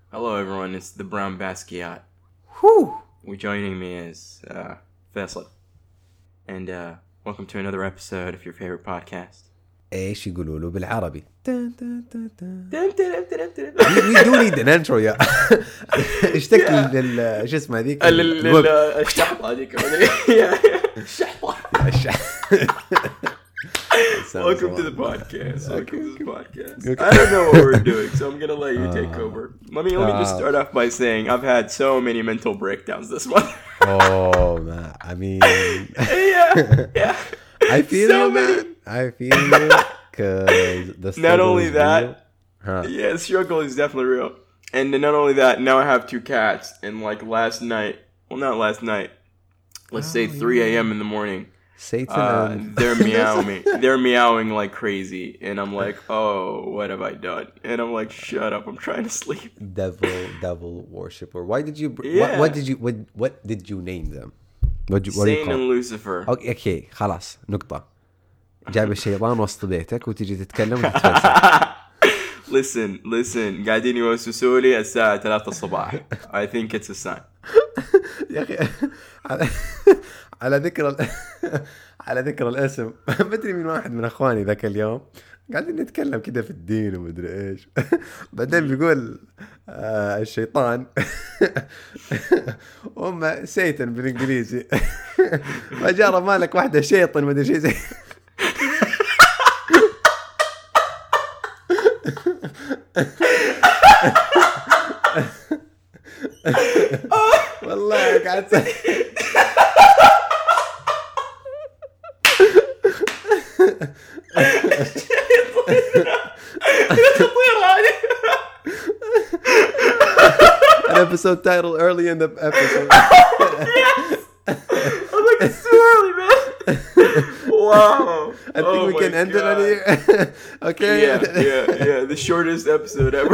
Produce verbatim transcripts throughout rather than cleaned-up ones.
Hello everyone, it's the Brown Basquiat. Whew. Joining me is uh, Faisal. And uh, welcome to another episode of your favorite podcast. ايش يقولوا له بالعربي؟ We we do need an intro يا اشتكي لل شو اسمه هذيك الشحطة هذيك الشحطة. Welcome to the podcast. Welcome to the podcast. I don't know what we're doing, so I'm gonna let you take over. Let me let me just start off by saying I've had so many mental breakdowns this month. Oh man, I mean, yeah, yeah. I feel So you, many. man. I feel you, cause the Not only is that, real. Huh. yeah, the struggle is definitely real. And not only that, now I have two cats, and like last night, well, not last night. Let's Oh, say three yeah. a.m. in the morning. Satan Uh, and they're meowing. They're meowing like crazy, and I'm like, "Oh, what have I done?" And I'm like, "Shut up! I'm trying to sleep." devil, devil worshipper. Why did you? What, Yeah. what did you? What, what did you name them? What, you, what do you Satan call? and Lucifer. اوكي اوكي خلاص نقطة. جايب الشيطان وسط بيتك وتجي تتكلم وتتفلسف. Listen, listen. قاعدين يوسوسوا لي الساعة ثلاثة الصباح. I think it's a sign. يا اخي على على ذكر ال... على ذكر الاسم ما ادري من واحد من اخواني ذاك اليوم قاعدين نتكلم كده في الدين ومدري ايش بعدين بيقول آه الشيطان هم سيتن بالانجليزي فجارة مالك واحدة شيطان مدري شيء زي والله قاعد an episode title early in the episode. Yes! I'm like, it's too early, man. Wow. I think Oh we my can end it on God. here. Okay. Yeah, yeah, yeah. The shortest episode ever.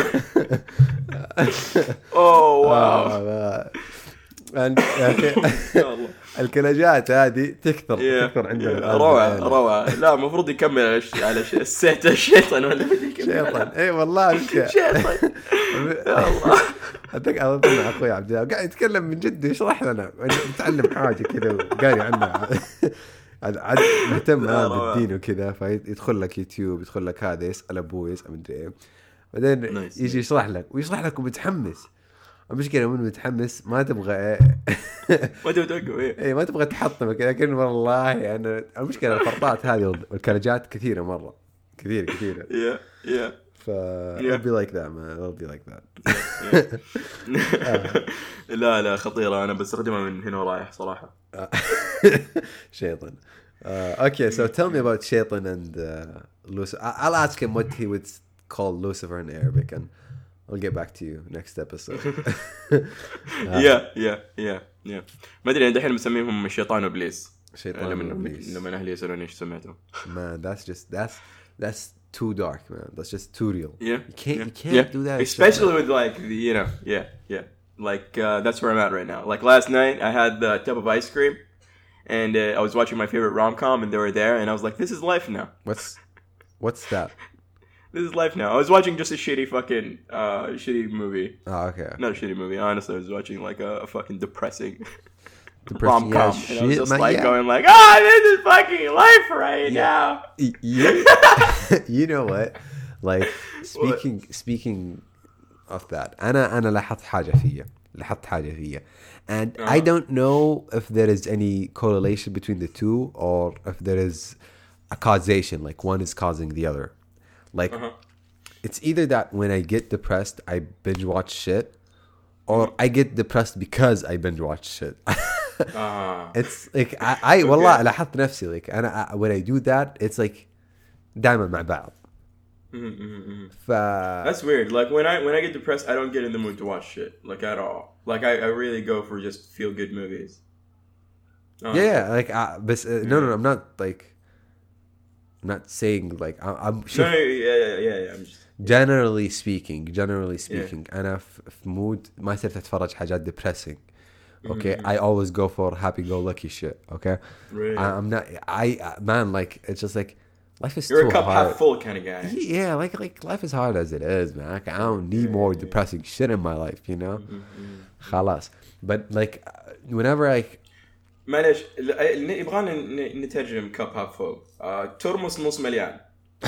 Oh, wow. آه، and- يا أخي، يا الله. الكلاجات هذه تكثر Yeah. تكثر عندنا Yeah. الآن. روعة روعة. لا المفروض يكمل على ش... على ش... السيت الشيطان ولا بدي يكمل. شيطان اي والله مشكلة. شيطان. يا الله. أتذكر أظن أخوي عبد الله قاعد يتكلم من جد يشرح لنا نتعلم حاجة كذا وقاري عنها عاد مهتم لا، هذا روعة. الدين وكذا فيدخل لك يوتيوب يدخل لك هذا يسأل أبوه يسأل مدري إيه بعدين نايس. يجي يشرح لك ويشرح لك ومتحمس المشكلة من متحمس ما تبغى إيه ما تبغى توقف ايه. إيه ما تبغى تحطمك لكن والله أنا المشكلة الفرطات هذه والكلاجات كثيرة مرة كثير كثيرة Yeah, yeah. ف I'll be like that man I'll be like that لا لا خطيرة أنا بستخدمها من هنا ورايح صراحة. Shaitan. Uh, okay, so tell me about Shaitan and uh, Lucifer. I- I'll ask him what he would call Lucifer in Arabic, and I'll get back to you next episode. Yeah, yeah, yeah, yeah. ما أدري أنا دحين مسميهم الشيطان وإبليس. شيطان لما وإبليس. لما أهلي يسألوني إيش سميتهم. Man, that's just that's that's too dark, man. That's just too real. Yeah, You can't yeah, you can't yeah. do that. Especially with like the, you know, yeah, yeah. Like uh, that's where I'm at right now. Like last night, I had the tub of ice cream, and uh, I was watching my favorite rom-com, and they were there, and I was like, "This is life now. What's what's that? This is life now." I was watching just a shitty fucking uh, shitty movie. Oh, okay. Not a shitty movie. Honestly, I was watching like a, a fucking depressing Depressing rom-com, as and I was shit, just man, like yeah. going like, "Ah, this is fucking life right Yeah. now." Y- you, you know what? Like speaking speaking of that, أنا أنا لاحظت حاجة فيا لاحظت حاجة فيا and I Uh-huh. don't know if there is any correlation between the two or if there is a causation like one is causing the other like Uh-huh. it's either that when I get depressed I binge watch shit or I get depressed because I binge watch shit. Ah. It's like I, I والله لاحظت نفسي like أنا when I do that it's like دائما مع بعض. Mhm, mhm, mhm. ف That's weird. Like when I when I get depressed, I don't get in the mood to watch shit like at all. Like I, I really go for just feel good movies. Oh, yeah, yeah like uh, بس uh, no no no I'm not like I'm not saying like I, I'm No, شوف, no, yeah, yeah, yeah, yeah. I'm just generally speaking generally speaking أنا في في mood ما صرت أتفرج حاجات depressing. Okay, I always go for happy go lucky shit. Okay, Really? I, I'm not I uh, man like it's just like life is You're too a cup hard. half full kind of guy. Yeah, like like life is hard as it is, man. Like, I don't need more depressing shit in my life, you know. خلاص. But like uh, whenever I معلش ال- يبغانا ن- نترجم كاب هاف فول. آه، ترمس نص مليان.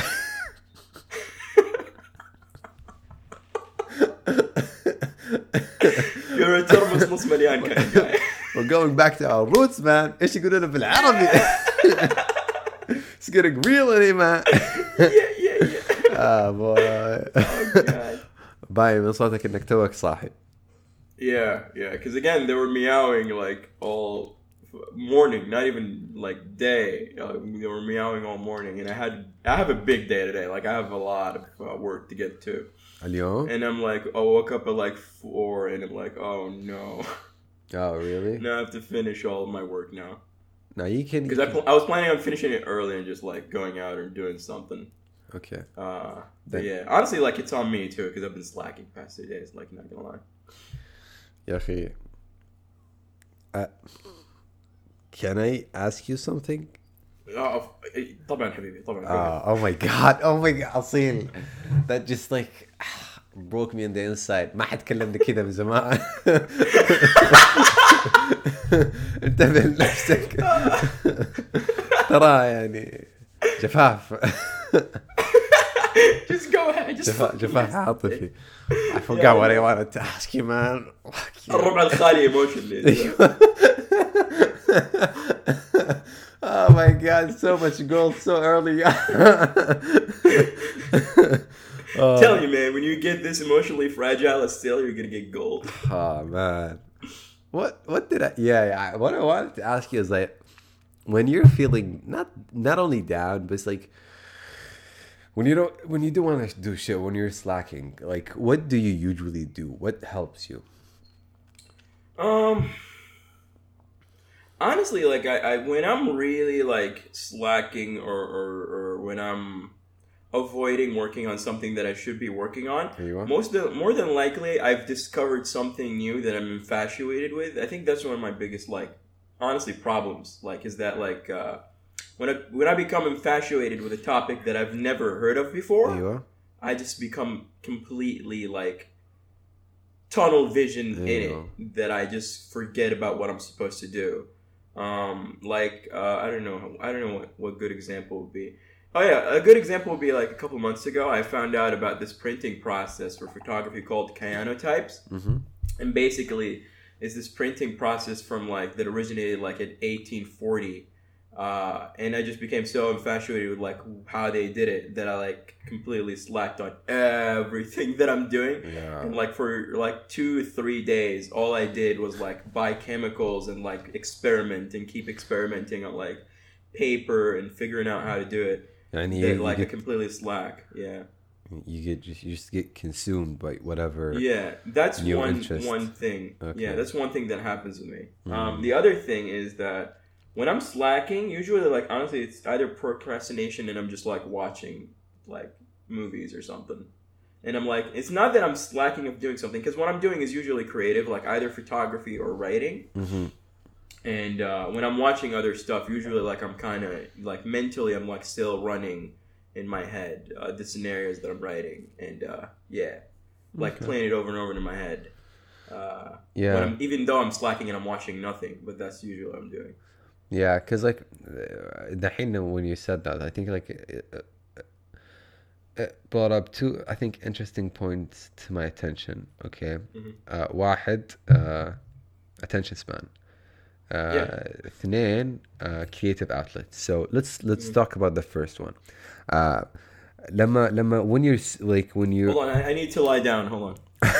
You're a ترمس نص مليان kind of guy. we're going back to our roots, man. ايش يقولون بالعربي؟ It's getting real in here, man. Yeah, yeah, yeah. Ah, boy. Oh, God. باين من صوتك انك توك صاحي. Yeah, yeah. Because again, they were meowing like all morning, not even like day. Uh, they were meowing all morning, and I had I have a big day today. Like I have a lot of uh, work to get to. اليوم? And I'm like, I woke up at like four, and I'm like, oh no. Oh, really? Now I have to finish all of my work now. No, you can. Because I, pl- I was planning on finishing it early and just like going out and doing something. Okay. Uh, but yeah, honestly, like it's on me too because I've been slacking past two days. Like, not gonna lie. يا أخي. Uh, can I ask you something? Oh, طبعا حبيبي طبعا. Uh, oh my god! Oh my god! أصيل. That just like broke me on the inside. ما حد كلمني كذا من زمان. انتبه لنفسك. ترى يعني جفاف. Just go ahead. Just جفاف جفاف عاطفي. I forgot what I wanted to ask you, man. الربع الخالي emotionally. Oh my god, so much gold so early. I'm telling you, man, when you get this emotionally fragile still, you're gonna get gold. Oh man. What what did I yeah, yeah what I wanted to ask you is like when you're feeling not not only down but it's like when you don't when you do want to do shit when you're slacking, like what do you usually do? What helps you? Um honestly, like I, I when I'm really like slacking or, or or when I'm avoiding working on something that I should be working on, most of, more than likely I've discovered something new that I'm infatuated with. I think that's one of my biggest like honestly problems, like is that like uh when I when I become infatuated with a topic that I've never heard of before, I just become completely like tunnel vision in it that I just forget about what I'm supposed to do. Um like uh I don't know I don't know what, what good example would be. Oh yeah, a good example would be like a couple months ago, I found out about this printing process for photography called cyanotypes. Mm-hmm. And basically, it's this printing process from like that originated like in eighteen forty. Uh, and I just became so infatuated with like how they did it that I like completely slacked on everything that I'm doing. Yeah. And like for like two, three days, all I did was like buy chemicals and like experiment and keep experimenting on like paper and figuring out how to do it. And you, you, like you a completely slack, yeah. You get just you just get consumed by whatever. Yeah, that's new one interest. one thing. Okay. Yeah, that's one thing that happens with me. Mm. Um, the other thing is that when I'm slacking, usually like honestly, it's either procrastination and I'm just like watching like movies or something. And I'm like, it's not that I'm slacking of doing something because what I'm doing is usually creative, like either photography or writing. Mm-hmm. And uh, when I'm watching other stuff, usually like I'm kind of like mentally, I'm like still running in my head uh, the scenarios that I'm writing, and uh, yeah, like Okay. playing it over and over in my head. Uh, Yeah. when I'm, even though I'm slacking and I'm watching nothing, but that's usually what I'm doing. Yeah, because like uh, دحين when you said that, I think like it, it brought up two, I think, interesting points to my attention. Okay, Mhm. uh, واحد uh, attention span. Uh, Yeah. اثنين uh, creative outlets. So let's let's Mhm. talk about the first one. Uh, لما لما when you're s- like when you Hold on, I, I need to lie down. Hold on.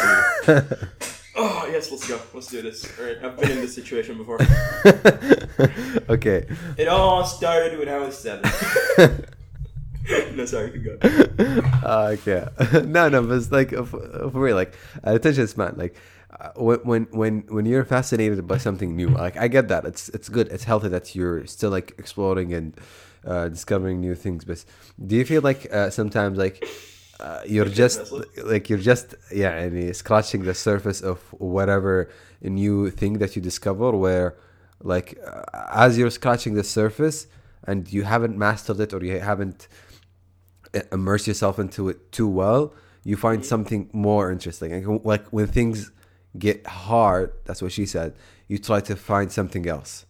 Oh yes, let's go. Let's do this. All right, I've been in this situation before. Okay. It all started when I was seven. No, sorry, you can go. Uh, okay. no, no, but it's like for, for real, like uh, attention span, like uh, when when when when you're fascinated by something new, like I get that it's it's good, it's healthy that you're still like exploring and uh, discovering new things. But do you feel like uh, sometimes like uh, you're just like you're just yeah, يعني scratching the surface of whatever new thing that you discover, where like uh, as you're scratching the surface, and you haven't mastered it or you haven't immersed yourself into it too well, you find something more interesting. Like, like when things get hard, that's what she said, you try to find something else.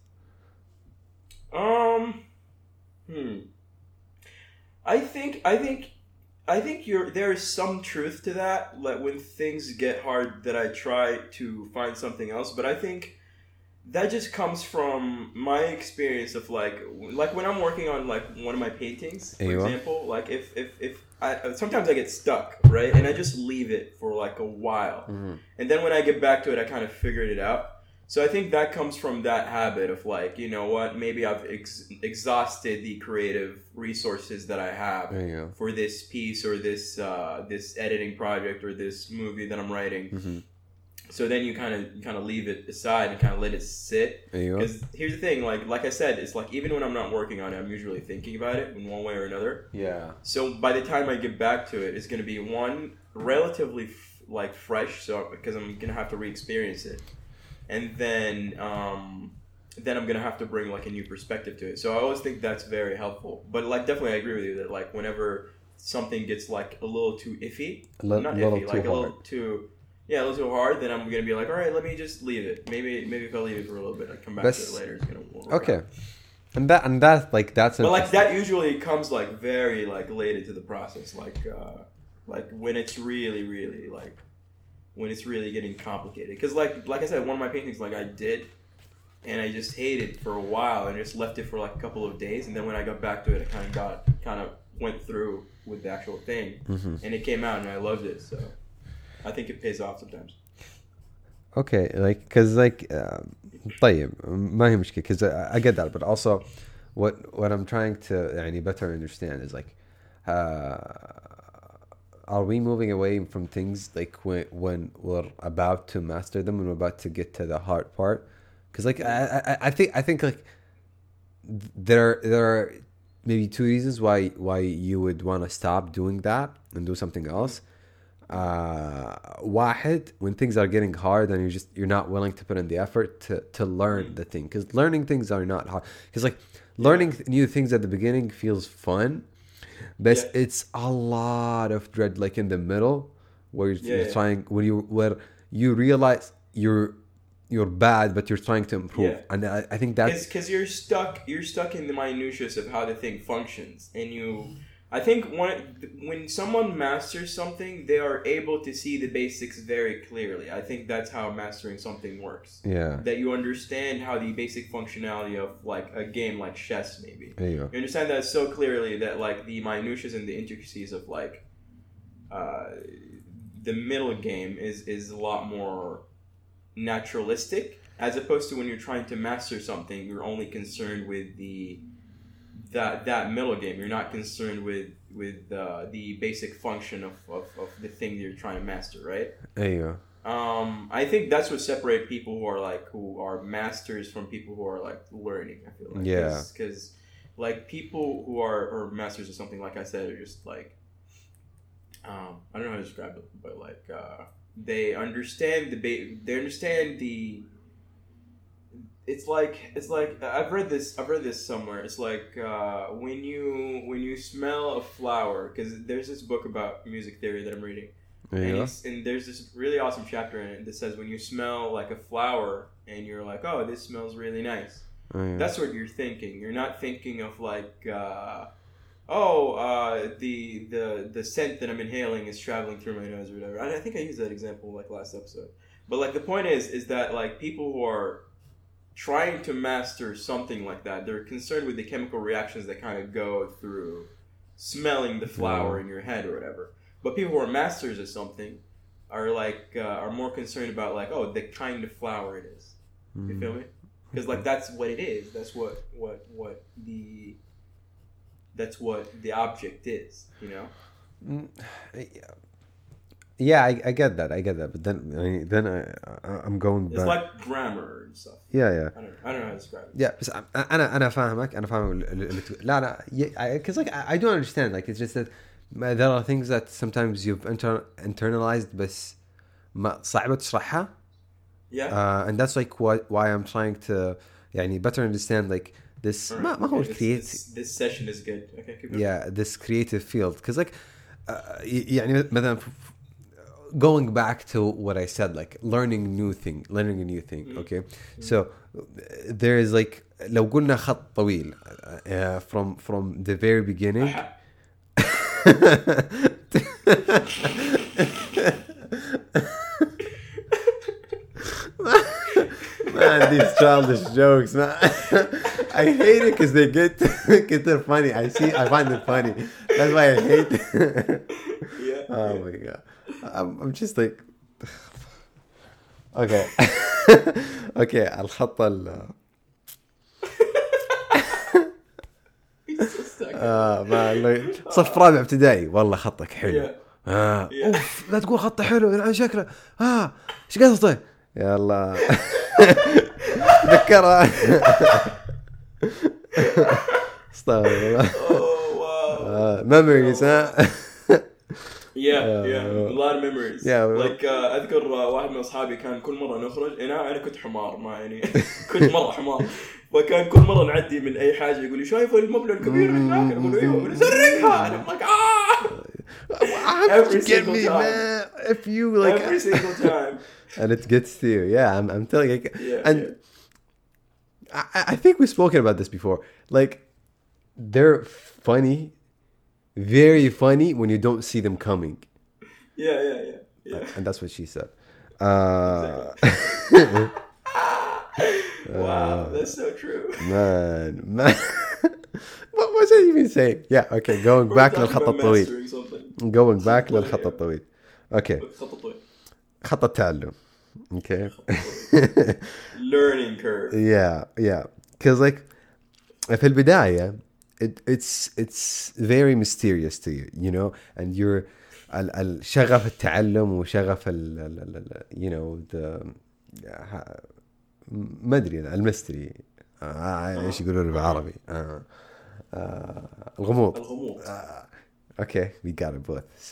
Um, hmm. I think, I think, I think you're, there is some truth to that. Like when things get hard, that I try to find something else. But I think that just comes from my experience of like, like when I'm working on like one of my paintings, for Aywa. example. Like if, if, if I sometimes I get stuck, right, and I just leave it for like a while, Mm-hmm. and then when I get back to it, I kind of figured it out. So I think that comes from that habit of like, you know what, maybe I've ex- exhausted the creative resources that I have There you go. for this piece or this uh, this editing project or this movie that I'm writing. Mm-hmm. So then you kind of kind of leave it aside and kind of let it sit. There you go. Because here's the thing, like like I said, it's like even when I'm not working on it, I'm usually thinking about it in one way or another. Yeah. So by the time I get back to it, it's going to be one relatively f- like fresh, so because I'm going to have to re-experience it. And then, um, then I'm gonna have to bring like a new perspective to it. So I always think that's very helpful. But like, definitely, I agree with you that like whenever something gets like a little too iffy, A li- not little iffy, too like a hard. little too, yeah, a little too hard, then I'm gonna be like, all right, let me just leave it. Maybe, maybe if I leave it for a little bit, I come back That's- to it later. It's gonna work Okay. out. And that and that like that's But like interesting. that usually comes like very like late into the process, like uh, like when it's really, really like. when it's really getting complicated. Because like like I said, one of my paintings like I did, and I just hated it for a while and just left it for like a couple of days, and then when I got back to it, I kind of got kind of went through with the actual thing, Mm-hmm. and it came out and I loved it. So I think it pays off sometimes. Okay, like because like um, طيب ما هي مشكلة because I, I get that, but also what what I'm trying to يعني better understand is like uh, are we moving away from things like when when we're about to master them, when we're about to get to the hard part? Because like I, I I think I think like there there are maybe two reasons why why you would want to stop doing that and do something else. Uh, واحد, when things are getting hard and you're just you're not willing to put in the effort to to learn the thing, because learning things are not hard. Because like learning th- new things at the beginning feels fun, but Yeah. it's a lot of dread like in the middle where you're, Yeah, you're yeah. trying when you where you realize you're you're bad but you're trying to improve. Yeah. And I, I think that's Because you're stuck, you're stuck in the minutiae of how the thing functions, and you. I think when when someone masters something, they are able to see the basics very clearly. I think that's how mastering something works. yeah That you understand how the basic functionality of like a game like chess, maybe. there you go. You understand that so clearly that like the minutiae and the intricacies of like uh, the middle game is is a lot more naturalistic, as opposed to when you're trying to master something, you're only concerned with the that that middle game. You're not concerned with with uh, the basic function of, of, of the thing that you're trying to master, right? There you go. Um, I think that's what separates people who are like who are masters from people who are like learning. I feel like Yeah. because like people who are or masters of something, like I said, are just like um, I don't know how to describe it, but like uh, they understand the ba- they understand the. It's like it's like I've read this I've read this somewhere. It's like uh, when you when you smell a flower, because there's this book about music theory that I'm reading. There And, you go. he's, and there's this really awesome chapter in it that says when you smell like a flower and you're like, oh, this smells really nice. There you go. That's what you're thinking. You're not thinking of like, uh, oh, uh, the the the scent that I'm inhaling is traveling through my nose or whatever. And I think I used that example like last episode. But like the point is, is that like people who are trying to master something like that, they're concerned with the chemical reactions that kind of go through smelling the flower Yeah. in your head or whatever. But people who are masters of something are like uh, are more concerned about like, oh, the kind of flower it is. You feel me? Because like that's what it is. That's what what what the that's what the object is. You know. Mm, yeah, I, I get that. I get that. But then, I mean, then I, I I'm going It's back. like grammar and stuff. yeah, yeah. I don't I don't know how to describe it. Yeah, بس انا انا فاهمك انا فاهم ال- ال- ال- لا لا yeah, because like I, I do understand, like it's just that ما- there are things that sometimes you've inter- internalized بس ما صعبة تشرحها. Yeah. Uh, and that's like what why I'm trying to يعني better understand like this Right. ما ما هو Okay, this, create this, this session is good. Okay, keep going. yeah this creative field because like uh, y- يعني مثلا going back to what I said, like learning new thing, learning a new thing. Mm-hmm. Okay, so there is like لو قلنا خط طويل uh, from from the very beginning. Man, these childish jokes, man. I hate it because they get get they're funny. I see, I find it funny. That's why I hate it. Yeah. Oh my god, I'm, I'm just like, okay, okay. الخط ال آه ما صف رابع ابتدائي والله خطك حلو. Yeah. آه Yeah. أوف لا تقول خطه حلو يعني شكله آه إيش قصده يلا ذكرها. استغفر الله. Oh wow. memories ها. Yeah, yeah, a lot of memories. Yeah, like uh, اذكر uh, واحد من اصحابي كان كل مره نخرج انا انا كنت حمار ما يعني كنت مره حمار فكان كل مره نعدي من اي حاجه يقول لي شايف المبنى الكبير هناك اقول له ايوه نسرقها انا like ah every Get single me, time man. If you like every single time and it gets to you. Yeah, I'm I'm telling you. Yeah, and yeah. I I think we've spoken about this before. Like they're funny. Very funny when you don't see them coming. Yeah, yeah, yeah, yeah. And that's what she said. Uh, Wow, that's so true. man, man. What was I even saying? Yeah, okay, going back We're talking للخط about الطويل. mastering something. Going back للخط الطويل. Okay, خط طويل. خط التعلم. Okay. Learning curve. Yeah, yeah. Because like في البداية it, it's it's very mysterious to you, you know, and you're ال ال شغف التعلم وشغف ال ال ال you know the ما أدري الميستري إيش يقولون بالعربي آه. آه. الغموض. الغموض. آه. Okay, we got it both. So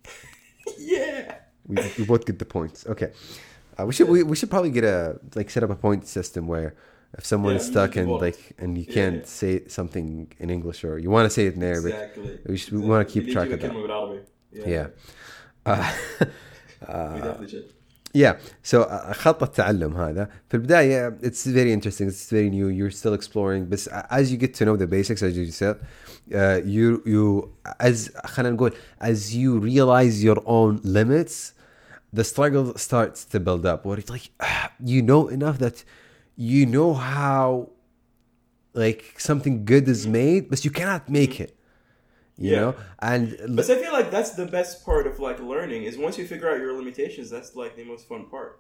Yeah. we we both get the points. Okay, uh, we should we, we should probably get a like set up a point system where if someone Yeah, is stuck and involved. like and you Yeah, can't yeah. say something in English or you want to say it in Arabic, Exactly. we should we want to keep track of that. كلمة بالعربي. Yeah. Uh, We definitely should. yeah. So uh, خط التعلم هذا في البداية it's very interesting. It's very new. You're still exploring. But as you get to know the basics, as you said, uh, you you as خلينا نقول as you realize your own limits, the struggle starts to build up. Where it's like you know enough that you know how like something good is made, but you cannot make it. You Yeah. know, and But I feel like that's the best part of like learning is once you figure out your limitations, that's like the most fun part.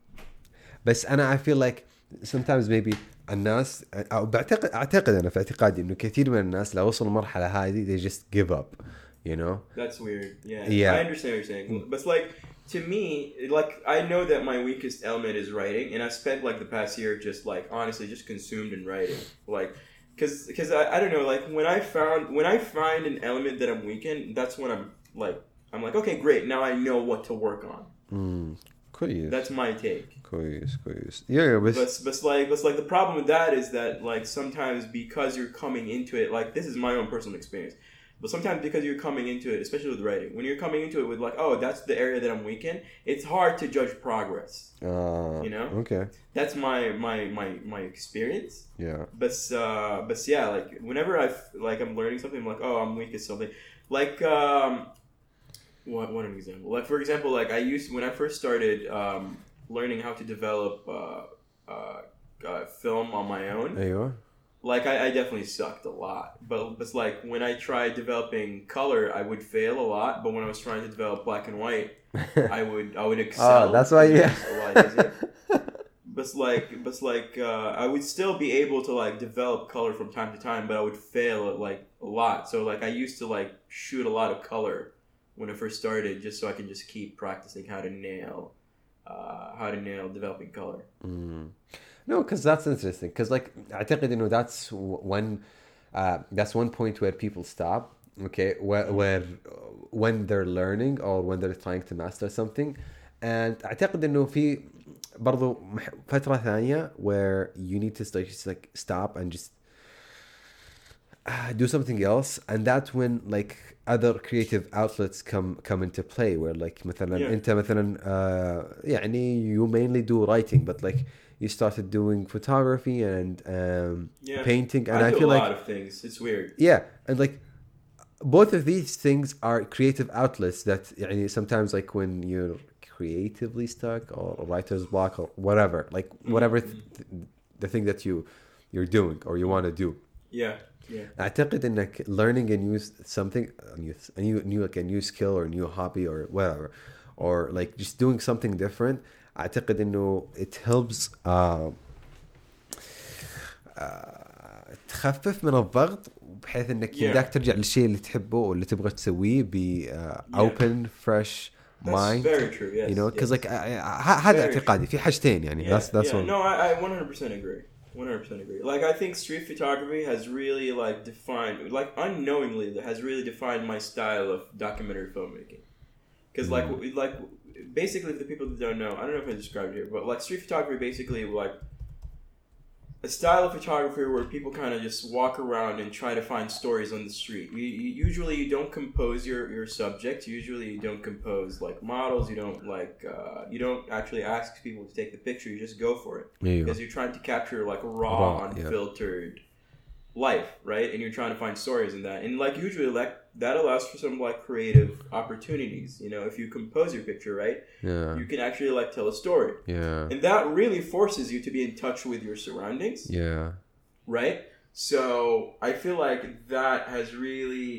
بس أنا I feel like sometimes maybe الناس أو بعتقد أعتقد أنا في اعتقادي إنه كثير من الناس لو وصلوا المرحلة هذه they just give up, you know. That's weird. Yeah. Yeah. I understand what you're saying. But like to me, like I know that my weakest element is writing, and I spent like the past year just like honestly just consumed in writing, like. Cause, cause I, I don't know, like when I found, when I find an element that I'm weak in, that's when I'm like, I'm like, okay, great, now I know what to work on. Mm, كويس. That's my take. كويس كويس. Yeah, But, بس. but like, but like the problem with that is that like sometimes because you're coming into it, like this is my own personal experience. But sometimes because you're coming into it, especially with writing, when you're coming into it with like, oh, that's the area that I'm weak in, it's hard to judge progress. Uh, You know? Okay. That's my my my my experience. Yeah. But uh, but yeah, like whenever I like I'm learning something, I'm like, oh, I'm weak at something. Like um, what what an example? Like for example, like I used when I first started um, learning how to develop uh, uh, uh, film on my own. أيوة. Like I, I definitely sucked a lot, but it's like when I tried developing color, I would fail a lot. But when I was trying to develop black and white, I would I would excel. Oh, that's why you. A lot easier. But like, but like, uh, I would still be able to like develop color from time to time, but I would fail at like a lot. So like, I used to like shoot a lot of color when I first started, just so I can just keep practicing how to nail, uh, how to nail developing color. Mm. No, because that's interesting. Because like أعتقد إنه that's one, uh, that's one point where people stop. Okay, where where when they're learning or when they're trying to master something, and أعتقد إنه في برضو فترة ثانية where you need to just like stop and just uh, do something else, and that's when like other creative outlets come come into play, where like مثلا Yeah. انت مثلا uh, يعني you mainly do writing, but like you started doing photography and um, Yeah. painting, and I, I, do feel a like lot of things. It's weird. yeah, and like both of these things are creative outlets that يعني sometimes like when you're creatively stuck or writer's block or whatever, like whatever Mm-hmm. th- the thing that you you're doing or you want to do. Yeah. Yeah. أعتقد إنك learning a new something, a new, a new, new like a new skill or a new hobby or whatever, or like just doing something different. أعتقد إنه it helps uh, uh, تخفف من الضغط بحيث إنك Yeah. يمداك ترجع للشيء اللي تحبه واللي تبغى تسويه ب uh, open fresh That's mind. very true. Yes. You know, because yes. like I, I, هذا اعتقادي في حاجتين يعني. Yeah, That's that's yeah. one. No, I, I one hundred percent agree. one hundred percent agree. Like I think street photography has really like defined, like unknowingly, has really defined my style of documentary filmmaking. Because like Mm. like basically, for the people that don't know, I don't know if I described it here, but like street photography basically like a style of photography where people kind of just walk around and try to find stories on the street. You, you, usually you don't compose your, your subject. Usually you don't compose like models. You don't like uh, you don't actually ask people to take the picture. You just go for it Yeah. because you're trying to capture like a raw, Raw, yeah. unfiltered life, right? And you're trying to find stories in that. And like usually like that allows for some like creative opportunities. You know, if you compose your picture right, Yeah. you can actually like tell a story. Yeah. And that really forces you to be in touch with your surroundings, Yeah. right? So I feel like that has really,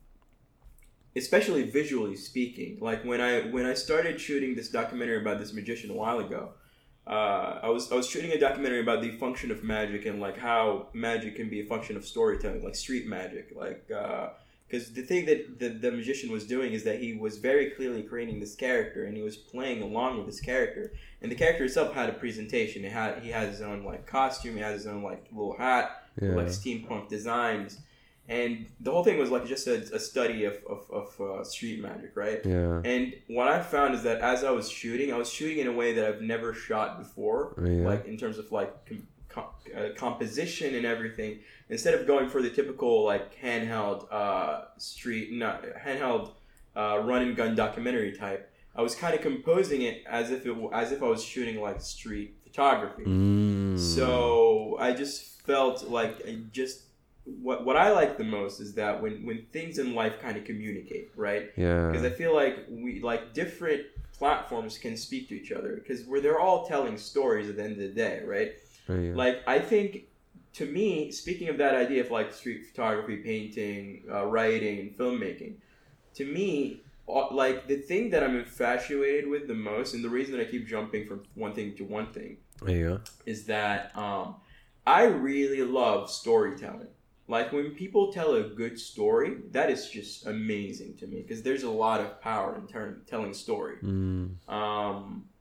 especially visually speaking, like when I when I started shooting this documentary about this magician a while ago, uh, I was I was shooting a documentary about the function of magic and like how magic can be a function of storytelling, like street magic, like. Uh, Because the thing that the, the magician was doing is that he was very clearly creating this character, and he was playing along with this character. And the character itself had a presentation. It had he had his own like costume. He had his own like little hat, Yeah. like steampunk designs, and the whole thing was like just a, a study of of, of uh, street magic, right? Yeah. And what I found is that as I was shooting, I was shooting in a way that I've never shot before, Yeah. like in terms of like com- com- uh, composition and everything. Instead of going for the typical like handheld uh, street, not handheld uh, run and gun documentary type, I was kind of composing it as if it as if I was shooting like street photography. Mm. So I just felt like I just what what I like the most is that when when things in life kind of communicate, right? Yeah. Because I feel like we like different platforms can speak to each other because we're they're all telling stories at the end of the day, right? Yeah. Like I think. To me, speaking of that idea of like street photography, painting, uh, writing, and filmmaking, to me, uh, like the thing that I'm infatuated with the most, and the reason that I keep jumping from one thing to one thing, Yeah. is that um, I really love storytelling. Like when people tell a good story, that is just amazing to me because there's a lot of power in term- telling story. Mm. Um,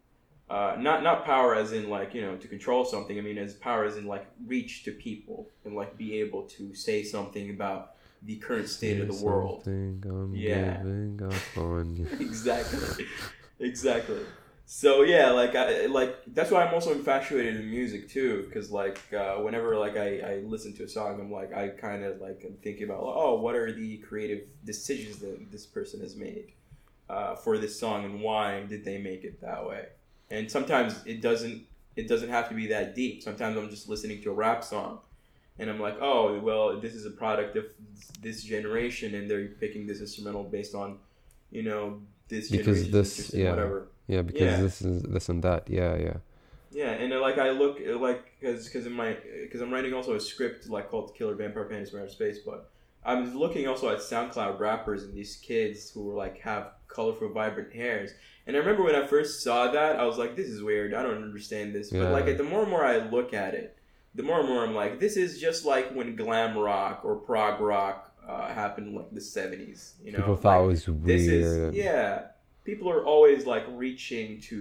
Uh, not not power as in like you know to control something. I mean as power as in like reach to people and like be able to say something about the current state of the world. I'm Yeah. giving up on you. Exactly, exactly. So yeah, like I like that's why I'm also infatuated in music too, because like uh, whenever like I, I listen to a song, I'm like I kind of like I'm thinking about oh what are the creative decisions that this person has made uh, for this song and why did they make it that way. And sometimes it doesn't it doesn't have to be that deep. Sometimes I'm just listening to a rap song and I'm like, oh, well, this is a product of this generation and they're picking this instrumental based on, you know, this Because generation this, interest in yeah. whatever. Yeah, because Yeah. this is this and that. Yeah, yeah. Yeah, and uh, like I look uh, like because because in my because I'm writing also a script like called Killer Vampire Panties from Outer Space, but I'm looking also at SoundCloud rappers and these kids who were like have colorful, vibrant hairs. And I remember when I first saw that, I was like, this is weird. I don't understand this. But Yeah. like the more and more I look at it, the more and more I'm like, this is just like when glam rock or prog rock uh, happened in like the seventies. You know, People thought like, it was weird. this is yeah. People are always like reaching to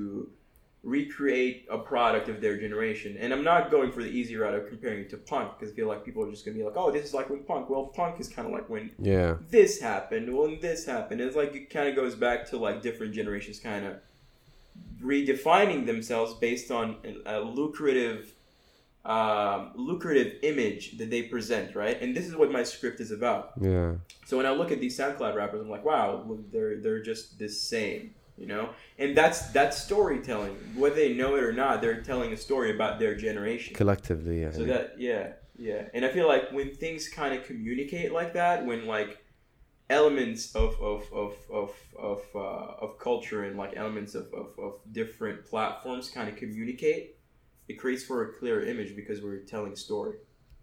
recreate a product of their generation. And I'm not going for the easy route of comparing it to punk because I feel like people are just going to be like, oh, this is like when punk. Well, punk is kind of like when Yeah. this happened. Well, and this happened. It's like it kind of goes back to like different generations kind of redefining themselves based on a lucrative um, lucrative image that they present, right? And this is what my script is about. Yeah. So when I look at these SoundCloud rappers, I'm like, wow, they're they're just the same, you know. And that's that's storytelling. Whether they know it or not, they're telling a story about their generation collectively. Yeah. So that yeah yeah, and I feel like when things kind of communicate like that, when like elements of of of of of, uh, of culture and like elements of, of, of different platforms kind of communicate, it creates for a clearer image because we're telling a story.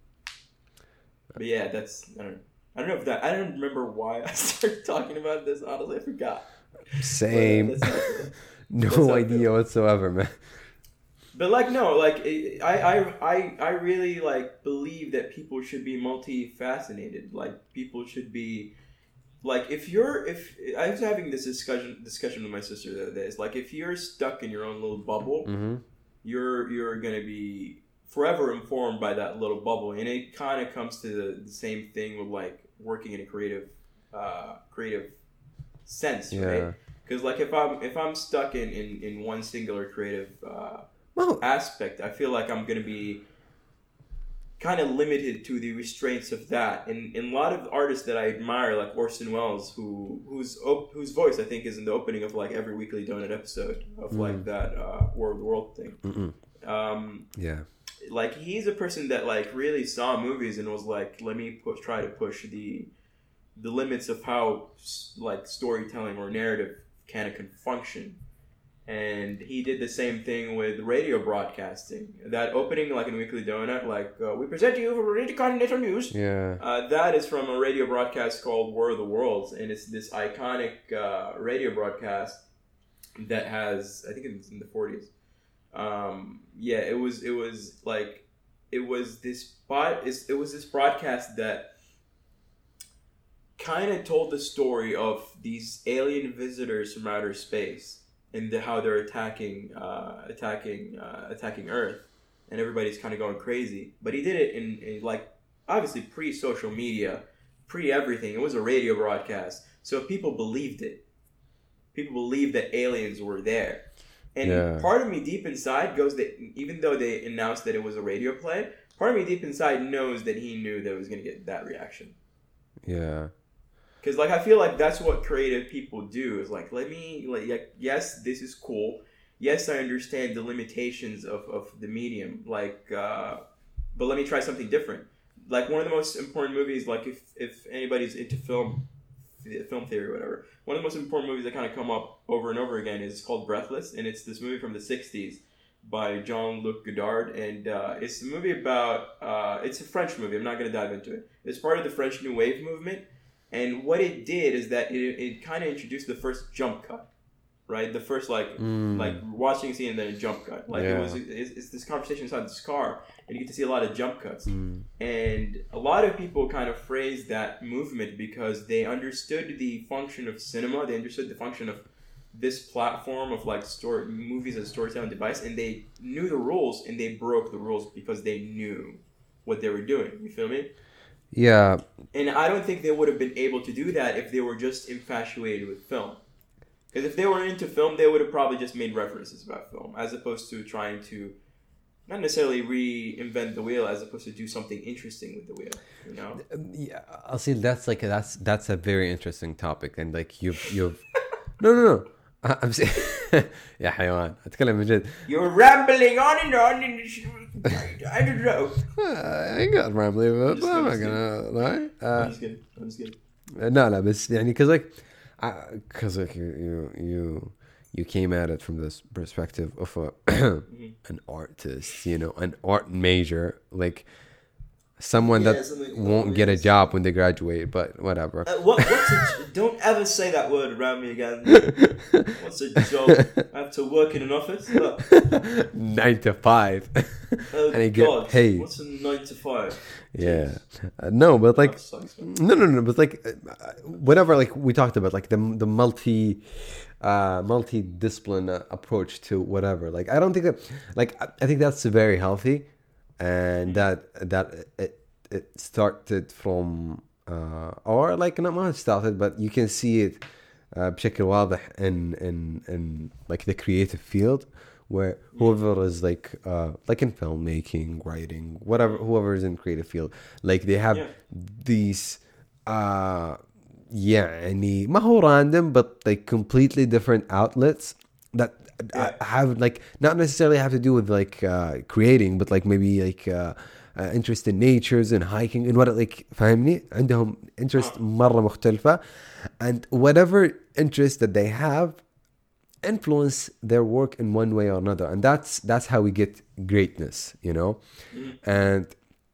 But yeah, that's I don't know. I don't know if that I don't remember why I started talking about this. Honestly, I forgot. Same. But, uh, no idea whatsoever, man. But like no, like I, I I I really like believe that people should be multifaceted. Like people should be like if you're if I was having this discussion discussion with my sister the other day. It's like if you're stuck in your own little bubble, mm-hmm. you're you're gonna be forever informed by that little bubble, and it kind of comes to the, the same thing with like working in a creative uh, creative sense, yeah. right? Because like if I'm if I'm stuck in, in, in one singular creative uh, well, aspect, I feel like I'm gonna be kind of limited to the restraints of that. And, and a lot of artists that I admire, like Orson Welles, who whose op- whose voice I think is in the opening of like every Weekly Donut episode of mm. like that uh, War of the World thing. Um, yeah. Like he's a person that like really saw movies and was like, let me push, try to push the the limits of how like storytelling or narrative can can function. And he did the same thing with radio broadcasting. That opening, like in Weekly Donut, like uh, we present to you for Intercontinental News. Yeah, uh, that is from a radio broadcast called War of the Worlds, and it's this iconic uh, radio broadcast that has, I think it's in the forties. Um, yeah, it was. It was like, it was this bot. It was this broadcast that kind of told the story of these alien visitors from outer space and the, how they're attacking, uh, attacking, uh, attacking Earth, and everybody's kind of going crazy. But he did it in, in like obviously pre-social media, pre-everything. It was a radio broadcast, so people believed it. People believed that aliens were there. And yeah. part of me deep inside goes that even though they announced that it was a radio play, part of me deep inside knows that he knew that it was going to get that reaction. Yeah. Because, like, I feel like that's what creative people do. Is like, let me, like, yes, this is cool. Yes, I understand the limitations of, of the medium. Like, uh, but let me try something different. Like, one of the most important movies, like, if, if anybody's into film, film theory or whatever, one of the most important movies that kind of come up over and over again is called Breathless, and it's this movie from the sixties by Jean-Luc Godard, and uh, it's a movie about, uh, it's a French movie, I'm not going to dive into it. It's part of the French New Wave movement, and what it did is that it, it kind of introduced the first jump cut, right? The first, like, mm. like watching a scene and then a jump cut. Like, yeah. it was, it's, it's this conversation inside this car, and you get to see a lot of jump cuts. Mm. And a lot of people kind of phrased that movement because they understood the function of cinema, they understood the function of this platform of like story movies as a storytelling device, and they knew the rules and they broke the rules because they knew what they were doing. You feel me? Yeah. And I don't think they would have been able to do that if they were just infatuated with film. Because if they were into film, they would have probably just made references about film, as opposed to trying to not necessarily reinvent the wheel, as opposed to do something interesting with the wheel. You know? Yeah, I'll see. That's like a, that's that's a very interesting topic, and like you've you've no no no. I'm saying, يا حيوان أتكلم من جد. You're rambling on and on and I don't know. I ain't got rambling, but I'm not gonna lie. Uh, I'm just kidding. I'm just kidding. No, no, but يعني cause like, cause like you you you you came at it from this perspective of a mm-hmm. an artist, you know, an art major, like someone yeah, that won't get a job when they graduate, but whatever. Uh, what, what's a, don't ever say that word around me again. What's a job? I have to work in an office? Look. Nine to five. Oh, and you God. get paid. What's a nine to five? Yeah. Uh, no, but like, sucks, no, no, no, but like, uh, whatever, like we talked about, like the the multi, uh, multi-discipline uh, approach to whatever. Like, I don't think that, like, I, I think that's very healthy. And that that it, it started from uh, or like not much started, but you can see it uh, بشكل واضح in in in like the creative field where whoever is like uh like in filmmaking, writing, whatever, whoever is in creative field, like they have yeah. these uh يعني ما هو random but like completely different outlets that yeah. have like not necessarily have to do with like uh creating, but like maybe like uh, uh interest in natures and hiking and what like فاهمني عندهم interest مرة مختلفة, and whatever interest that they have influence their work in one way or another, and that's that's how we get greatness, you know. mm. And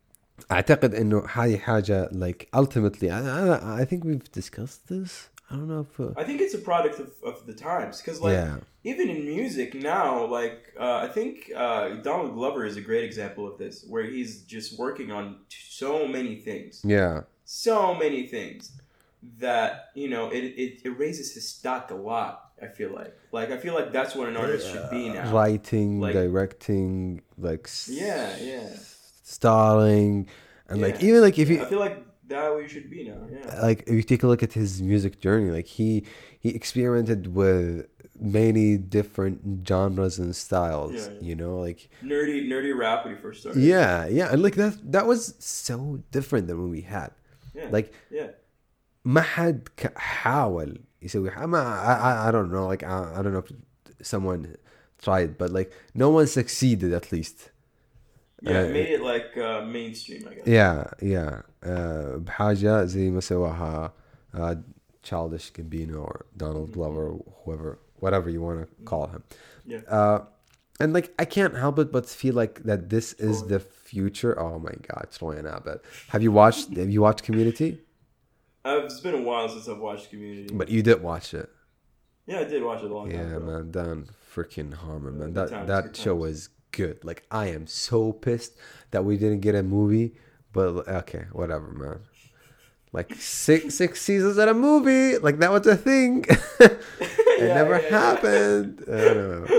أعتقد إنه هذه حاجة like ultimately I, I, I think we've discussed this. I don't know if uh, I think it's a product of, of the times, because like yeah. even in music now, like uh, I think uh, Donald Glover is a great example of this, where he's just working on so many things. Yeah, so many things that, you know, it, it, it raises his stock a lot. I feel like like I feel like that's what an artist uh, should be now. Writing, like, directing, like yeah, yeah, starring, and yeah. like even like if you, I feel like that's what you should be now. Yeah. Like if you take a look at his music journey, like he he experimented with many different genres and styles. Yeah, yeah. You know, like nerdy nerdy rap when he first started. Yeah, yeah, and like that that was so different than what we had. Yeah. Like yeah. ما حد حاول يسوي ما I, I don't know like I, I don't know if someone tried, but like no one succeeded at least. Yeah, uh, made it like uh, mainstream, I guess. Yeah, yeah. Uh, بحاجة زي ما سواها uh, Childish Gambino or Donald Glover, or whoever, whatever you want to call him. Yeah. Uh, and like I can't help it but feel like that this is the future. Oh my God, Troyan Abbott. Have you watched? Have you watched Community? Uh, it's been a while since I've watched Community. But you did watch it. Yeah, I did watch it a long yeah, time ago. Yeah, man, Dan freaking Harmon, man. Yeah, that times, that show was good. Like I am so pissed that we didn't get a movie. But okay, whatever, man. Like six six seasons of a movie, like that was a thing. it yeah, never yeah, happened. Yeah. I don't know.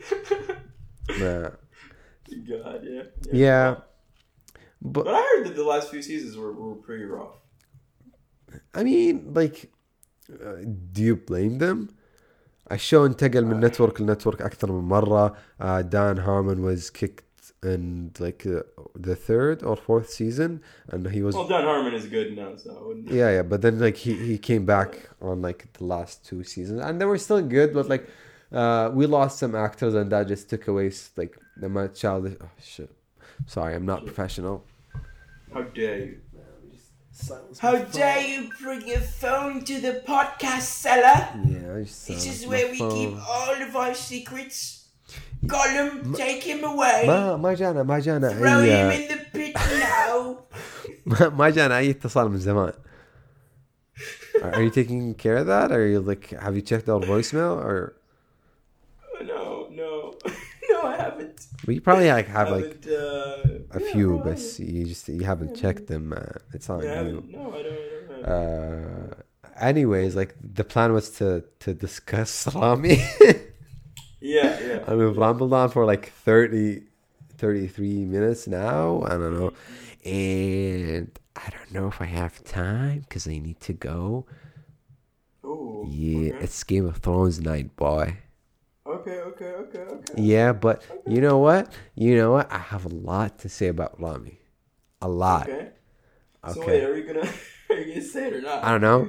Nah. God, yeah. Yeah. yeah. But, but I heard that the last few seasons were, were pretty rough. I mean, like, uh, do you blame them? الشو انتقل من نتورك لنتورك أكثر من مرة. Uh, Dan Harmon was kicked in like uh, the third or fourth season, and he was. Well, Dan Harmon is good now, so. I wouldn't... Yeah, yeah, but then like he, he came back on like the last two seasons, and they were still good, but like uh, we lost some actors, and that just took away like the my childish. Oh shit! Sorry, I'm not shit. professional. How dare you? How dare you bring your phone to the podcast cellar? Yeah, I just this is where we phone. keep all of our secrets. Gollum, ما, take him away. ما ما جانا ما جانا Throw أي... him in the pit now. ما ما جانا أي اتصال من زمان. Are you taking care of that? Or are you like, have you checked our voicemail or? No, no, no, I haven't. Well, you probably like have like uh, a yeah, few, no, but you just you haven't yeah, checked them. Uh, it's on yeah, you. No, I don't. I don't uh, anyways, like the plan was to to discuss Rami. Yeah, yeah. And we've rambled on for like thirty, thirty-three minutes now. I don't know. And I don't know if I have time because I need to go. Oh, yeah, okay. It's Game of Thrones night, boy. Okay, okay, okay, okay. Yeah, but okay. You know what? You know what? I have a lot to say about Rami. A lot. Okay. Okay. So wait, are you gonna are you gonna say it or not? I don't know.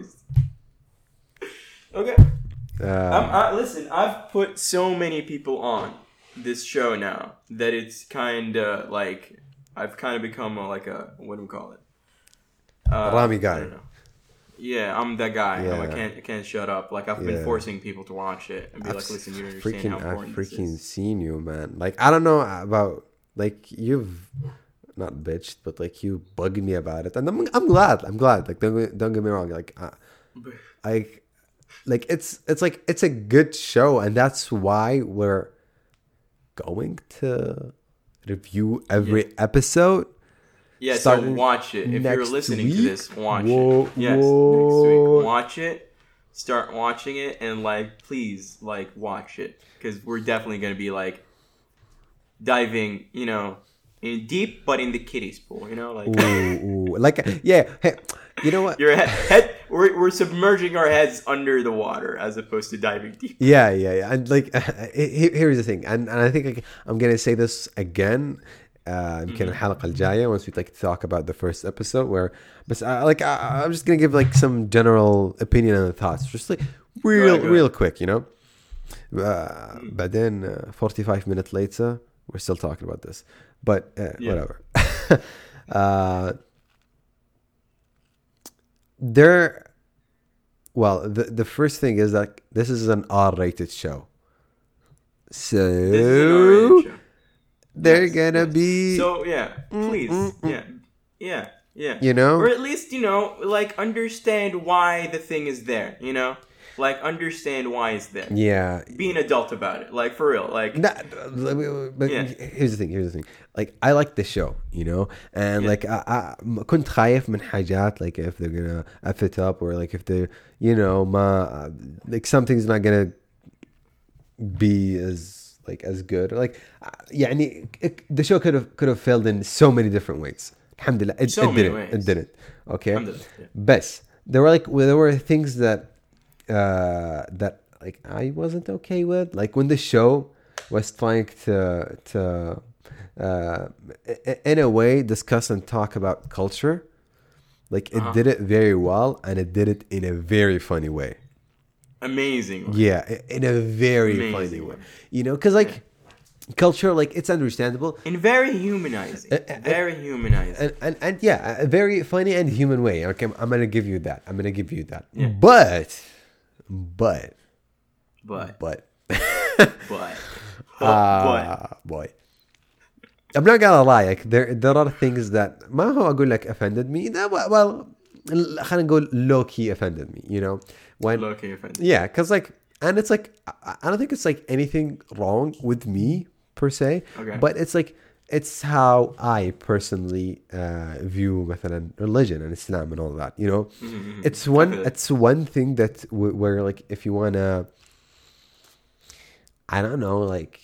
Okay. Uh, I'm, I, listen, I've put so many people on this show now that it's kind of like I've kind of become a, like a what do we call it? Uh, Rami guy. I don't know. Yeah, I'm that guy. Yeah. I can't I can't shut up. Like I've yeah. been forcing people to watch it and be I've like, listen, you don't understand freaking, how important I've freaking this is. seen you, man. Like I don't know about like you've not bitched, but like you bugged me about it, and I'm I'm glad. I'm glad. Like don't don't get me wrong. Like I, I like it's it's like it's a good show, and that's why we're going to review every yeah. episode. Yeah, so watch it. If you're listening week? to this, watch whoa, it. Yes, whoa. next week. Watch it. Start watching it, and like, please, like, watch it, because we're definitely gonna be like diving, you know, in deep, but in the kiddies pool, you know, like. Ooh, ooh. Like, yeah. Hey, you know what? You're head, head we're we're submerging our heads under the water as opposed to diving deep. Yeah, yeah, yeah. And like, here's the thing, and, and I think like, I'm gonna say this again. Uh, يمكن الحلقة الجاية once we like talk about the first episode where, but uh, like I, I'm just gonna give like some general opinion and thoughts, just like real, right, real quick, you know. Uh, but then uh, forty-five minutes later, we're still talking about this, but uh, yeah. whatever. uh, there, well, the the first thing is that this is an R-rated show, so. They're yes, gonna yes. be so yeah please mm-mm-mm. yeah yeah yeah you know, or at least, you know, like understand why the thing is there, you know, like understand why it's there. Yeah, be an adult about it, like for real, like nah, but yeah. here's the thing here's the thing like I like the show, you know, and yeah. like I, I كنت خايف من حاجات, like if they're gonna F it up, or like if they, you know, ma, like something's not gonna be as like as good, like يعني the show could have could have failed in so many different ways. Alhamdulillah, it, so it didn't ways. it didn't okay yeah. But there were like there were things that uh that like I wasn't okay with, like when the show was trying to to uh in a way discuss and talk about culture, like it uh-huh. did it very well, and it did it in a very funny way. Amazing way. Yeah, in a very Amazing funny way. You know, because like yeah. culture, like it's understandable and very humanizing, uh, uh, very humanizing, and, and and yeah, a very funny and human way. Okay, I'm gonna give you that. I'm gonna give you that. Yeah. But, but, but, but, but, oh, uh, boy. I'm not gonna lie. Like there, there are things that ما هو أقول لك offended me. That, well, خلينا نقول low key offended me. You know. When, low key offended. Yeah, because like, and it's like, I, I don't think it's like anything wrong with me per se, okay. but it's like, it's how I personally uh, view مثلا religion and Islam and all that, you know. Mm-hmm. It's one, it's one thing that w- where like if you wanna, I don't know, like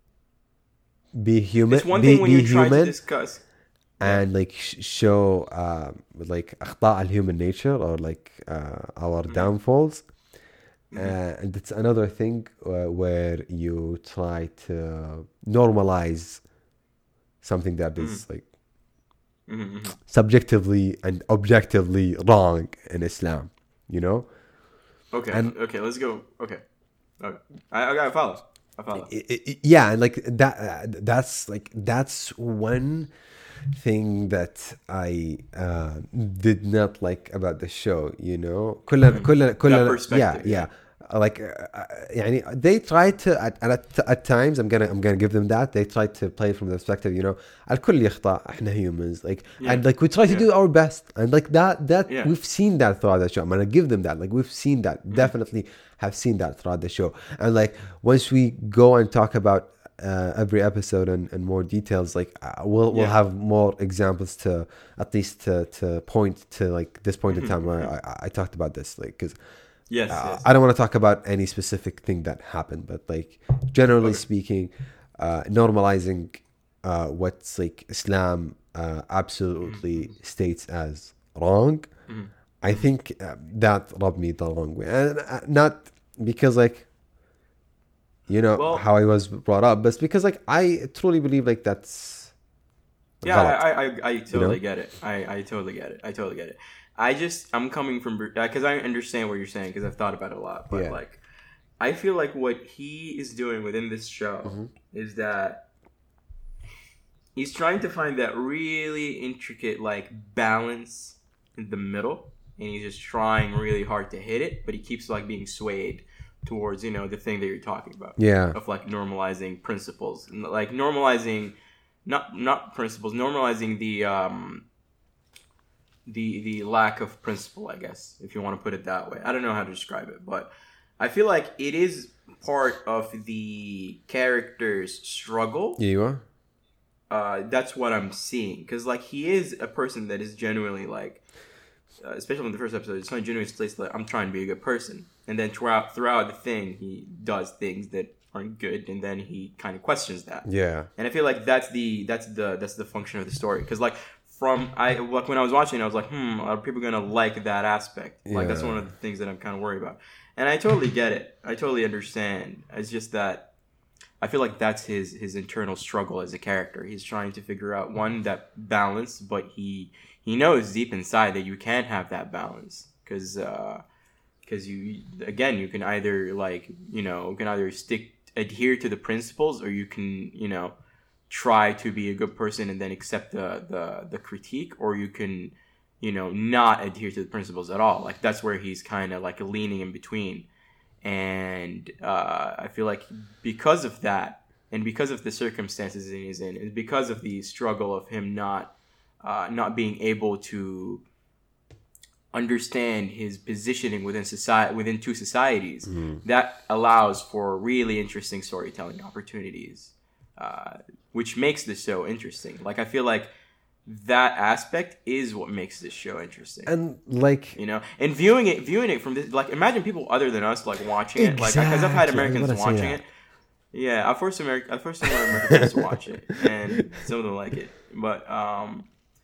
be human, it's one be, thing when be you're human, trying to discuss. And like sh- show uh, like أخطاء human nature, or like uh, our mm-hmm. downfalls. Mm-hmm. Uh, and it's another thing uh, where you try to normalize something that is mm-hmm. like mm-hmm. subjectively and objectively wrong in Islam, you know. Okay. And, okay. Let's go. Okay. Okay. I, I gotta follow. I follow. It, it, yeah, and like that. Uh, that's like that's one thing that I uh, did not like about the show, you know. كلنا كلنا كلنا yeah yeah like uh, يعني they tried to at, at at times I'm gonna I'm gonna give them that they tried to play from the perspective, you know, الكل يخطأ احنا humans, like yeah. and like we try to yeah. do our best, and like that that yeah. we've seen that throughout the show. I'm gonna give them that, like we've seen that mm-hmm. definitely have seen that throughout the show. And like once we go and talk about Uh, every episode and, and more details, like uh, we'll we'll yeah. have more examples to at least to, to point to like this point in time where I, I talked about this, like because yes, uh, yes I don't want to talk about any specific thing that happened, but like generally okay. speaking, uh, normalizing uh, what's like Islam uh, absolutely mm-hmm. states as wrong. Mm-hmm. I think uh, that rubbed me the wrong way, and uh, not because like. You know, well, how I was brought up, but it's because like I truly believe like that's yeah I, I I totally you know? get it I, I totally get it I totally get it I just I'm coming from because I understand what you're saying because I've thought about it a lot, but yeah. like I feel like what he is doing within this show mm-hmm. is that he's trying to find that really intricate like balance in the middle, and he's just trying really hard to hit it, but he keeps like being swayed towards, you know, the thing that you're talking about. Yeah. Of like normalizing principles, like normalizing, not not principles, normalizing the um, the the lack of principle, I guess, if you want to put it that way. I don't know how to describe it, but I feel like it is part of the character's struggle. Yeah, you are. Uh, that's what I'm seeing, because like he is a person that is genuinely like. Uh, especially in the first episode, it's not genuinely place like I'm trying to be a good person, and then throughout throughout the thing, he does things that aren't good, and then he kind of questions that. Yeah, and I feel like that's the that's the that's the function of the story, because like from I like when I was watching, I was like, hmm, are people gonna like that aspect? Like yeah. That's one of the things that I'm kind of worried about. And I totally get it. I totally understand. It's just that I feel like that's his his internal struggle as a character. He's trying to figure out one that balance, but he he knows deep inside that you can't have that balance because because uh, you again you can either like you know you can either stick adhere to the principles or you can you know try to be a good person and then accept the the, the critique, or you can you know not adhere to the principles at all. Like that's where he's kind of like leaning in between. And uh, I feel like because of that, and because of the circumstances he's in, and because of the struggle of him not uh, not being able to understand his positioning within society, within two societies, mm-hmm. that allows for really interesting storytelling opportunities, uh, which makes the show interesting. Like I feel like that aspect is what makes this show interesting. And like you know, and viewing it viewing it from this, like imagine people other than us like watching it, exactly. like because I've had Americans watching it. Yeah, I forced America I forced some Americans to watch it, and some of them like it. But um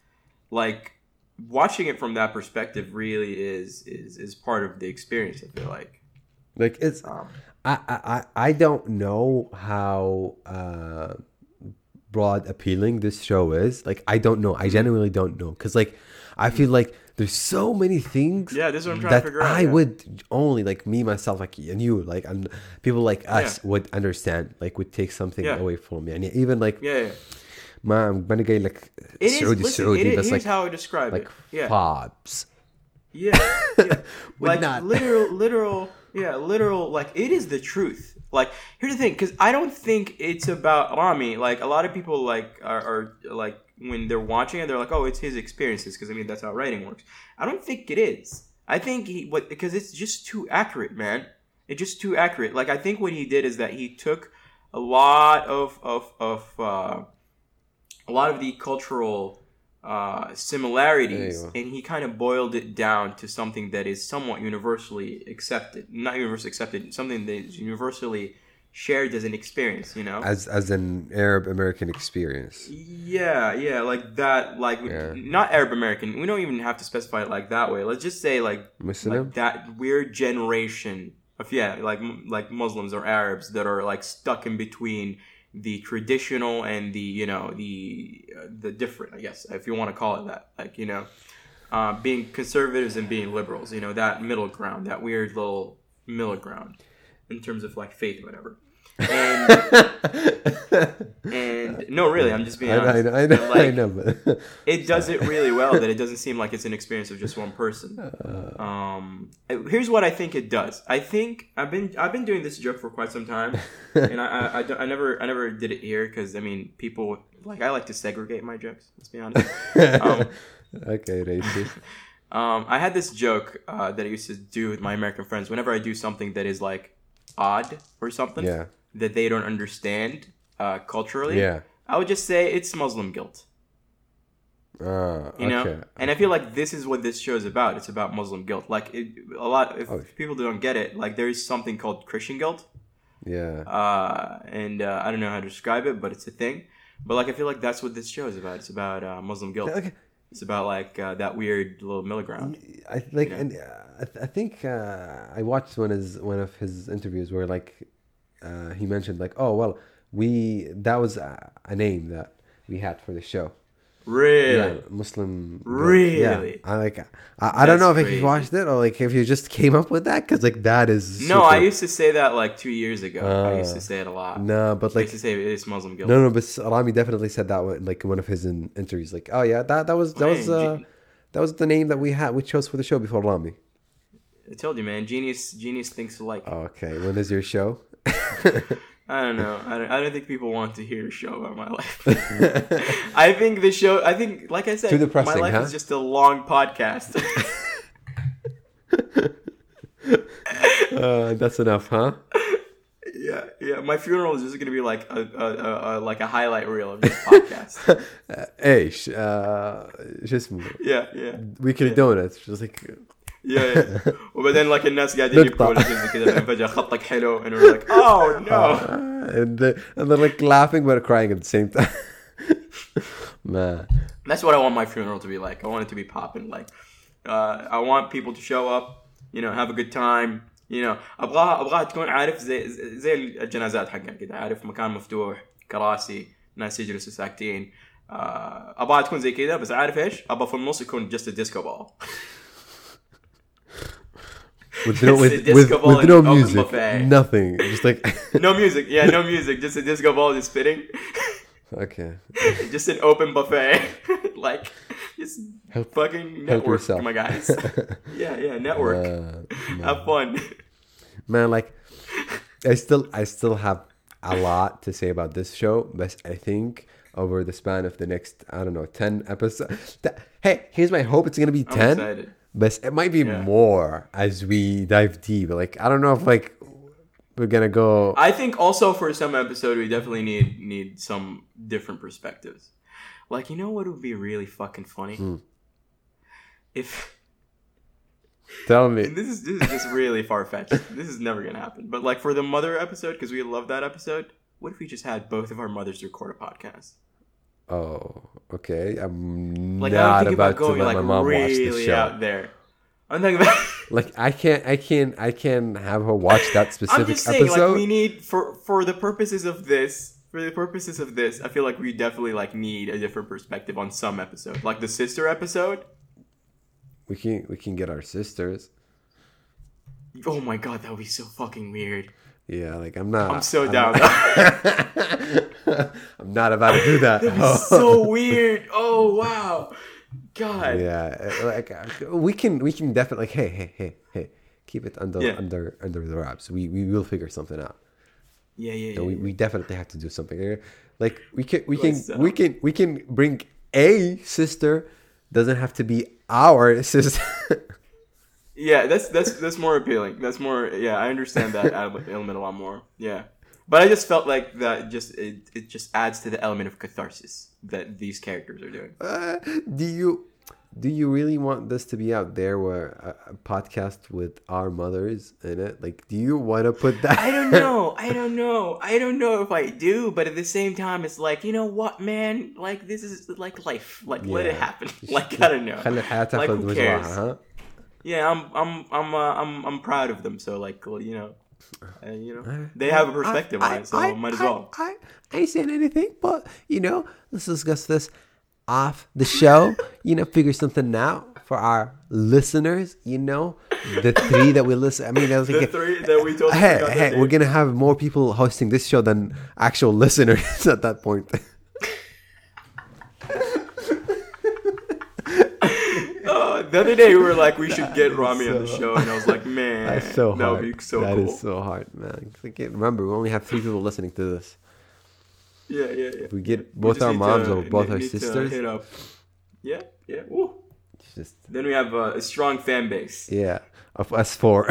like watching it from that perspective really is is is part of the experience, I feel like. Like it's um, I, I I don't know how uh broad appealing this show is. Like I don't know. I genuinely don't know. Because like I feel like there's so many things yeah, this is what I'm trying that to figure out, I yeah. would only like me, myself, like and you, like and people like us yeah. would understand, like would take something yeah. away from me. And even like yeah, yeah. ما أنا جاي like Saudi Saudi but like how I describe like it. Yeah. fobs. Yeah. yeah. like not. literal literal yeah, literal like it is the truth. Like here's the thing, because I don't think it's about Rami. Like a lot of people like are, are like when they're watching it, they're like, oh, it's his experiences, because I mean that's how writing works. I don't think it is. I think he what because it's just too accurate, man. It's just too accurate. Like I think what he did is that he took a lot of of of uh, a lot of the cultural uh, similarities, and he kind of boiled it down to something that is somewhat universally accepted. Not universally accepted, something that is universally shared as an experience, you know? As as an Arab American experience. Yeah, yeah, like that, like, yeah. not Arab American. We don't even have to specify it like that way. Let's just say, like, Muslim? like that weird generation of, yeah, like like Muslims or Arabs that are, like, stuck in between the traditional and the, you know, the uh, the different, I guess, if you want to call it that. Like, you know, uh, being conservatives and being liberals, you know, that middle ground, that weird little middle ground in terms of, like, faith or whatever. And, and no, really, I'm just being honest. I know, I know, like, I know but it does it really well that it doesn't seem like it's an experience of just one person. Um, here's what I think it does. I think I've been I've been doing this joke for quite some time, and I I, I, don't, I never I never did it here because I mean people like I like to segregate my jokes. Let's be honest. Um, okay, racist. Um, I had this joke uh, that I used to do with my American friends whenever I do something that is like odd or something. Yeah. That they don't understand uh, culturally, yeah. I would just say it's Muslim guilt. Uh, you know, okay. And I feel like this is what this show is about. It's about Muslim guilt. Like it, a lot, if oh. people don't get it, like there is something called Christian guilt. Yeah. Uh, and uh, I don't know how to describe it, but it's a thing. But like I feel like that's what this show is about. It's about uh, Muslim guilt. Okay. It's about like uh, that weird little middle ground. I like, you know? and uh, I, th- I think uh, I watched one of his, one of his interviews where like. Uh, he mentioned like, oh well, we that was a, a name that we had for the show. Really, yeah, Muslim. Really, yeah. I like. I, I don't know if crazy. you watched it or like if you just came up with that because like that is. No, super... I used to say that like two years ago. Uh, I used to say it a lot. No, but like I used to say it's Muslim guilt. No, no, but Rami definitely said that one, like in one of his in, interviews. Like, oh yeah, that that was that man, was uh, G- that was the name that we had we chose for the show before Rami. I told you, man. Genius, genius thinks alike. Okay, when is your show? I don't know. I don't, I don't think people want to hear a show about my life. I think the show, I think, like I said, Too depressing, my life huh? is just a long podcast. uh, that's enough, huh? Yeah, yeah. My funeral is just going to be like a, a, a, a like a highlight reel of this podcast. ايش شو اسمه Yeah, yeah. Weekly yeah. Donuts just like yeah, yeah. وبعدين like الناس قاعدين يبكوا كذا فجأة خطك حلو and we're like, oh no. Uh, and, they, and they're like laughing but crying at the same time. Man. That's what I want my funeral to be like. I want it to be popping. Like, uh, I want people to show up, you know, have a good time. You know, أبغاها أبغاها تكون عارف زي زي الجنازات حقنا كده، عارف مكان مفتوح، كراسي، ناس يجلسوا ساكتين. uh, أبغاها تكون زي كده، بس عارف إيش؟ أبغى في النص يكون just a disco ball. With no, with, with, with no music, nothing, just like no music, yeah, no music, just a disco ball just spitting. Okay. Just an open buffet, like just help, fucking network, help my guys. Yeah, yeah, network. Uh, have fun, man. Like, I still, I still have a lot to say about this show, but I think over the span of the next, I don't know, ten episodes. That, hey, here's my hope: it's gonna be ten. I'm excited. But it might be yeah. more as we dive deep. Like, I don't know if like we're gonna go. I think also for some episode we definitely need need some different perspectives. Like, you know what would be really fucking funny? Hmm. If tell me, this is this is just really far fetched. This is never gonna happen. But like for the mother episode, because we love that episode. What if we just had both of our mothers record a podcast? Oh, okay. I'm like, not about, about going, to let like, my mom really watch the show. Out there. I'm thinking about like I can't, I can't, I can't have her watch that specific I'm just saying, episode. Like, we need for for the purposes of this, for the purposes of this, I feel like we definitely like need a different perspective on some episode, like the sister episode. We can we can get our sisters. Oh my god, that would be so fucking weird. Yeah, like I'm not. I'm so I'm down. Not, I'm not about to do that. That'd be so weird. Oh wow, God. Yeah, like we can, we can definitely. Like, hey, hey, hey, hey, keep it under, yeah. under, under the wraps. We, we will figure something out. Yeah, yeah, yeah. We, yeah. we definitely have to do something here. Like we can, we can, we can, we can bring a sister. Doesn't have to be our sister. Yeah, that's that's that's more appealing. That's more. Yeah, I understand that element a lot more. Yeah, but I just felt like that. Just it, it just adds to the element of catharsis that these characters are doing. Uh, do you do you really want this to be out there, where a, a podcast with our mothers in it? Like, do you want to put that? I don't know. I don't know. I don't know if I do. But at the same time, it's like, you know what, man? Like, this is like life. Like, yeah. Let it happen. Like, I don't know. Like, who cares? Huh? Yeah, I'm, I'm, I'm, uh, I'm, I'm proud of them. So, like, you know, uh, you know, they have a perspective I, I, on it, so I, might as well. I, I, I ain't saying anything, but you know, let's discuss this off the show. You know, figure something out for our listeners. You know, the three that we listen. I mean, I was the like, three that we told. Hey, hey, we're gonna have more people hosting this show than actual listeners at that point. The other day we were like, we should get Rami so, on the show, and I was like, man, that's so hard. That would be so that cool. That is so hard, man. I can't remember, we only have three people listening to this. Yeah, yeah, yeah. If we get both we our moms to, or both our sisters. Hit up. Yeah, yeah. Woo. Just, then we have uh, a strong fan base. Yeah, of us four.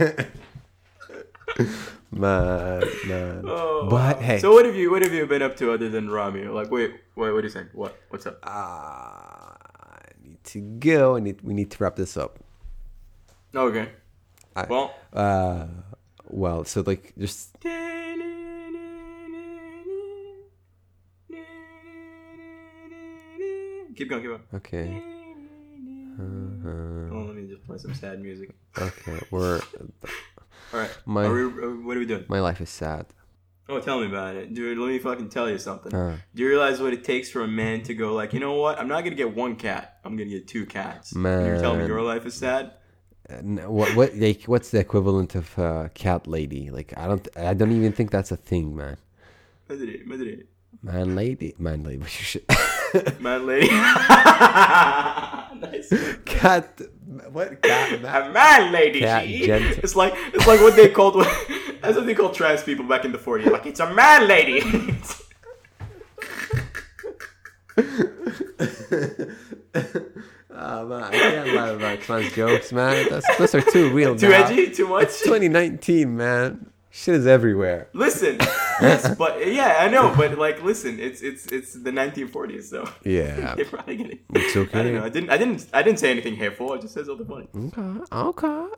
man, man. Oh, but wow. hey. So what have you what have you been up to other than Rami? Like, wait, wait, what are you saying? What? What's up? Ah. Uh, to go and we need to wrap this up. Okay. I, well uh well so like just keep going keep going. Okay. Uh-huh. Oh, let me just play some sad music. Okay, we're all right. My, are we, are, what are we doing? My life is sad. Oh, tell me about it. Dude, let me fucking tell you something. Uh, Do you realize what it takes for a man to go like, you know what? I'm not going to get one cat. I'm going to get two cats. Man. And you're telling me your life is sad? Uh, what what like what's the equivalent of uh, cat lady? Like I don't I don't even think that's a thing, man. Madrid, Madrid. Man lady, man lady. Man lady. Nice. Cat what cat man? A man lady. Cat gentle. It's like it's like what they called that's what they called trans people back in the forties. Like, it's a man lady. Oh man, I can't laugh about trans jokes, man. That's, those are too real. Too now. edgy? Too much? It's twenty nineteen, man. Shit is everywhere. Listen, yes, but yeah, I know, but like, listen, it's it's it's the nineteen forties, so yeah, you're probably gonna. It's okay. I don't know. I didn't. I didn't. I didn't say anything hateful. I just said something funny. Okay. Okay.